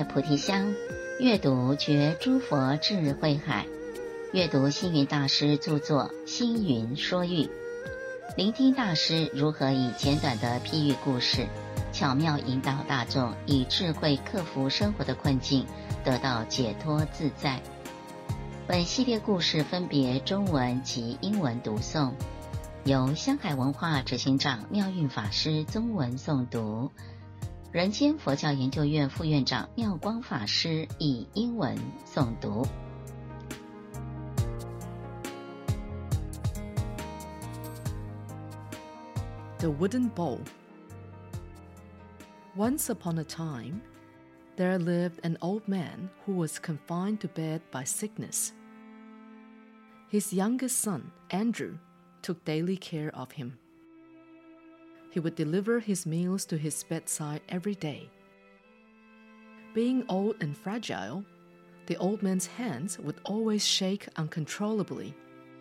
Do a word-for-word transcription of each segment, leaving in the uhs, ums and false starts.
葉菩提香，閱讀覺諸佛智慧海，閱讀星雲大師著作《星雲說喻》，聆聽大師如何以簡短的譬喻故事，巧妙引導大眾以智慧克服生活的困境，得到解脫自在。本系列故事分別中文及英文讀誦，由香海文化執行長妙運法師中文誦讀，人間佛教研究院副院長妙光法師以英文誦讀。 The Wooden Bowl. Once upon a time, there lived an old man who was confined to bed by sickness. His youngest son, Andrew, took daily care of him. He would deliver his meals to his bedside every day. Being old and fragile, the old man's hands would always shake uncontrollably.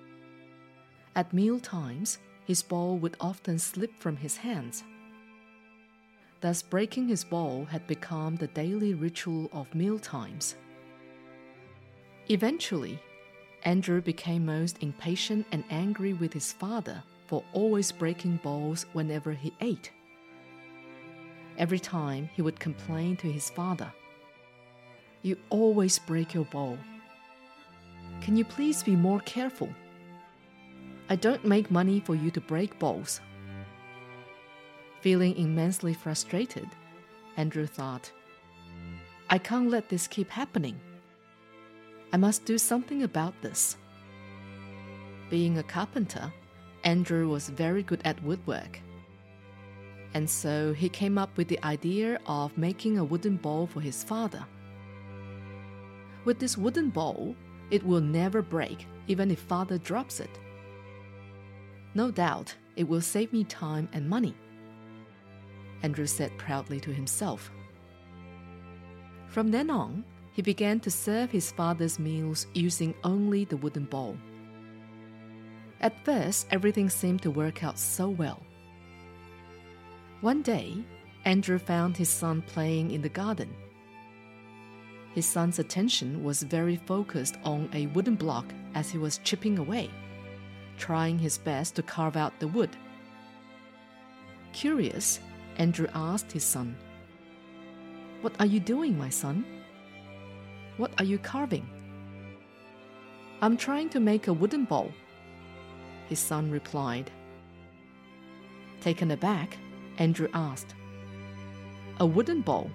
At meal times, his bowl would often slip from his hands. Thus, breaking his bowl had become the daily ritual of meal times. Eventually, Andrew became most impatient and angry with his father for always breaking bowls whenever he ate. Every time he would complain to his father, "You always break your bowl. Can you please be more careful? I don't make money for you to break bowls." Feeling immensely frustrated, Andrew thought, "I can't let this keep happening. I must do something about this." Being a carpenter, Andrew was very good at woodwork. And so he came up with the idea of making a wooden bowl for his father. With this wooden bowl, it will never break, even if father drops it. No doubt, it will save me time and money, Andrew said proudly to himself. From then on, he began to serve his father's meals using only the wooden bowl. At first, everything seemed to work out so well. One day, Andrew found his son playing in the garden. His son's attention was very focused on a wooden block as he was chipping away, trying his best to carve out the wood. Curious, Andrew asked his son, "What are you doing, my son? What are you carving?" "I'm trying to make a wooden bowl," his son replied. Taken aback, Andrew asked, "A wooden bowl?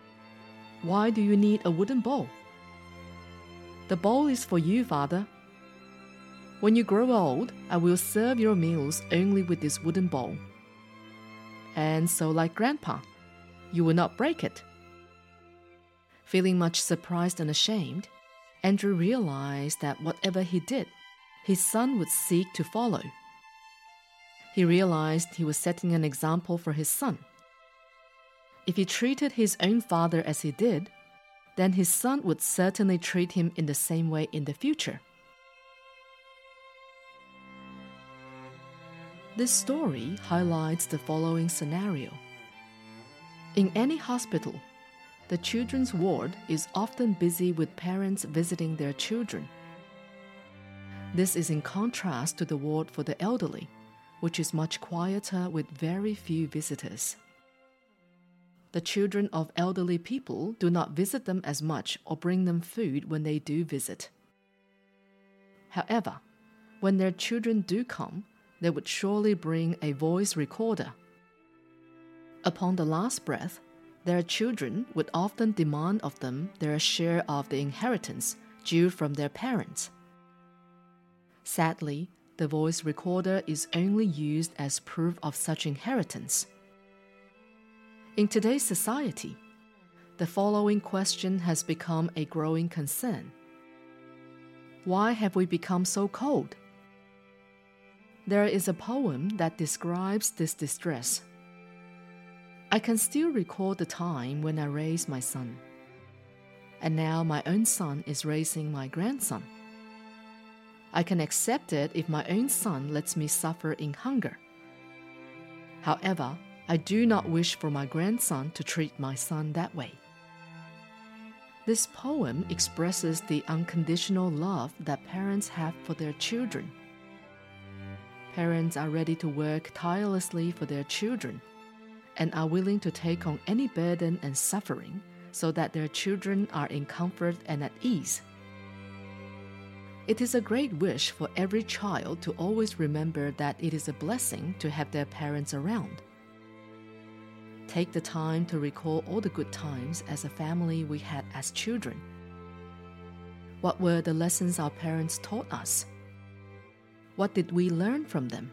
Why do you need a wooden bowl?" "The bowl is for you, father. When you grow old, I will serve your meals only with this wooden bowl. And so, like Grandpa, you will not break it." Feeling much surprised and ashamed, Andrew realized that whatever he did, his son would seek to follow. He realized he was setting an example for his son. If he treated his own father as he did, then his son would certainly treat him in the same way in the future. This story highlights the following scenario. In any hospital, the children's ward is often busy with parents visiting their children. This is in contrast to the ward for the elderly, which is much quieter with very few visitors. The children of elderly people do not visit them as much or bring them food when they do visit. However, when their children do come, they would surely bring a voice recorder. Upon the last breath, their children would often demand of them their share of the inheritance due from their parents. Sadly, the voice recorder is only used as proof of such inheritance. In today's society, the following question has become a growing concern. Why have we become so cold? There is a poem that describes this distress. I can still recall the time when I raised my son, and now my own son is raising my grandson. I can accept it if my own son lets me suffer in hunger. However, I do not wish for my grandson to treat my son that way. This poem expresses the unconditional love that parents have for their children. Parents are ready to work tirelessly for their children and are willing to take on any burden and suffering so that their children are in comfort and at ease. It is a great wish for every child to always remember that it is a blessing to have their parents around. Take the time to recall all the good times as a family we had as children. What were the lessons our parents taught us? What did we learn from them?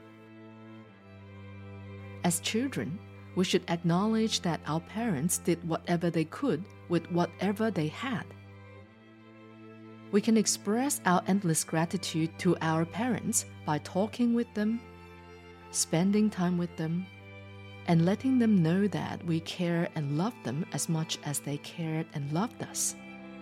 As children, we should acknowledge that our parents did whatever they could with whatever they had. We can express our endless gratitude to our parents by talking with them, spending time with them, and letting them know that we care and love them as much as they cared and loved us.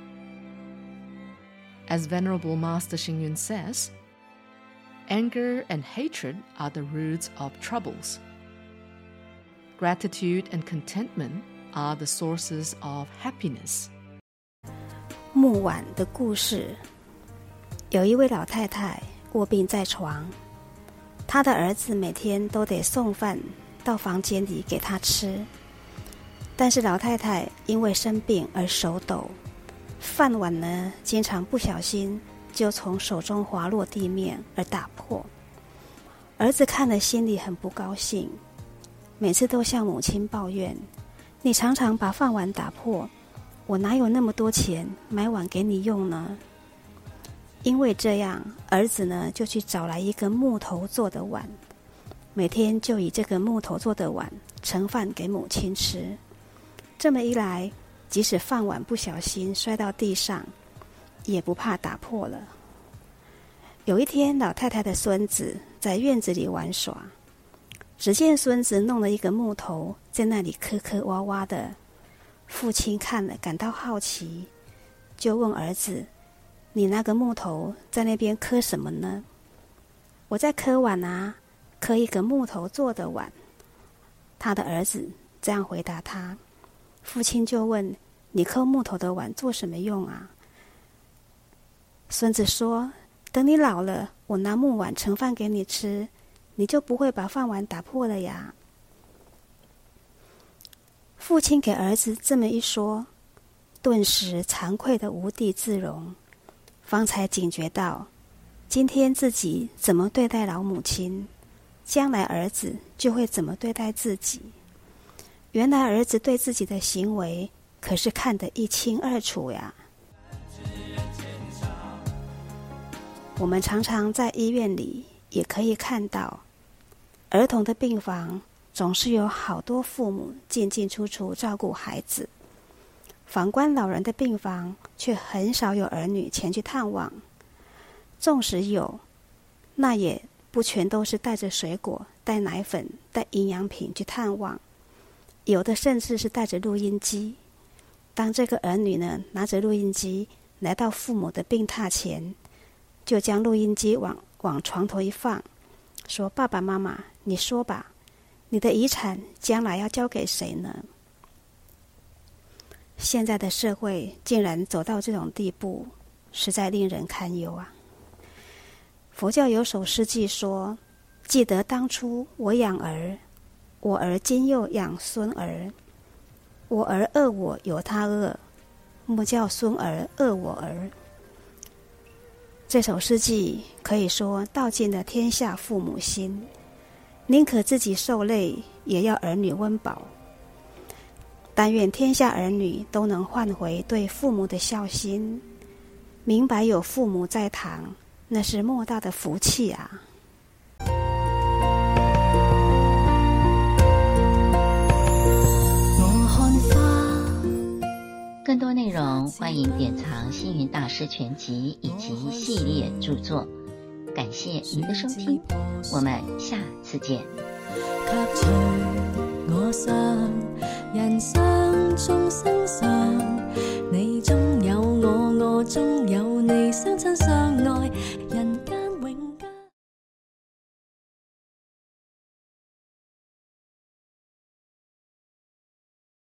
As Venerable Master Xing Yun says, anger and hatred are the roots of troubles. Gratitude and contentment are the sources of happiness. 木碗的故事。有一位老太太臥病在床，她的兒子每天都得送飯到房間裡給她吃，但是老太太因為生病而手抖，飯碗呢經常不小心就從手中滑落地面而打破。兒子看了心裡很不高興，每次都向母親抱怨：你常常把飯碗打破，我哪有那麼多錢買碗給你用呢？因為這樣，兒子呢就去找來一個木頭做的碗，每天就以這個木頭做的碗盛飯給母親吃。這麼一來，即使飯碗不小心摔到地上，也不怕打破了。有一天，老太太的孫子在院子裡玩耍，只見孫子弄了一個木頭在那裡磕磕洼洼的。父親看了感到好奇，就問兒子：你那個木頭在那邊磕什麼呢？我在磕碗啊，磕一個木頭做的碗。他的兒子這樣回答他。父親就問：你磕木頭的碗做什麼用啊？孫子說：等你老了，我拿木碗盛飯給你吃，你就不會把飯碗打破了呀。父親給兒子這麼一說，頓時慚愧得無地自容，方才警覺到，今天自己怎麼對待老母親，將來兒子就會怎麼對待自己。原來兒子對自己的行為可是看得一清二楚呀。我們常常在醫院裡也可以看到，兒童的病房總是有好多父母進進出出照顧孩子，反觀老人的病房卻很少有兒女前去探望。縱使有，那也不全都是帶着水果、帶奶粉、帶營養品去探望，有的甚至是帶着錄音機。當這個兒女呢拿着錄音機來到父母的病榻前，就將錄音機往往床頭一放，說：爸爸媽媽，你說吧，你的遺產將來要交給誰呢？現在的社會竟然走到這種地步，實在令人堪憂啊！佛教有首詩偈說：記得當初我養兒，我兒今又養孫兒，我兒餓我由他餓，莫叫孫兒餓我兒。這首詩偈可以說道盡了天下父母心，寧可自己受累，也要兒女溫飽。但願天下兒女都能喚回對父母的孝心，明白有父母在堂，那是莫大的福氣啊！ 更多內容歡迎典藏星雲大師全集以及系列著作。感謝您的收聽，我們下次見。 卻隨我想人生中生散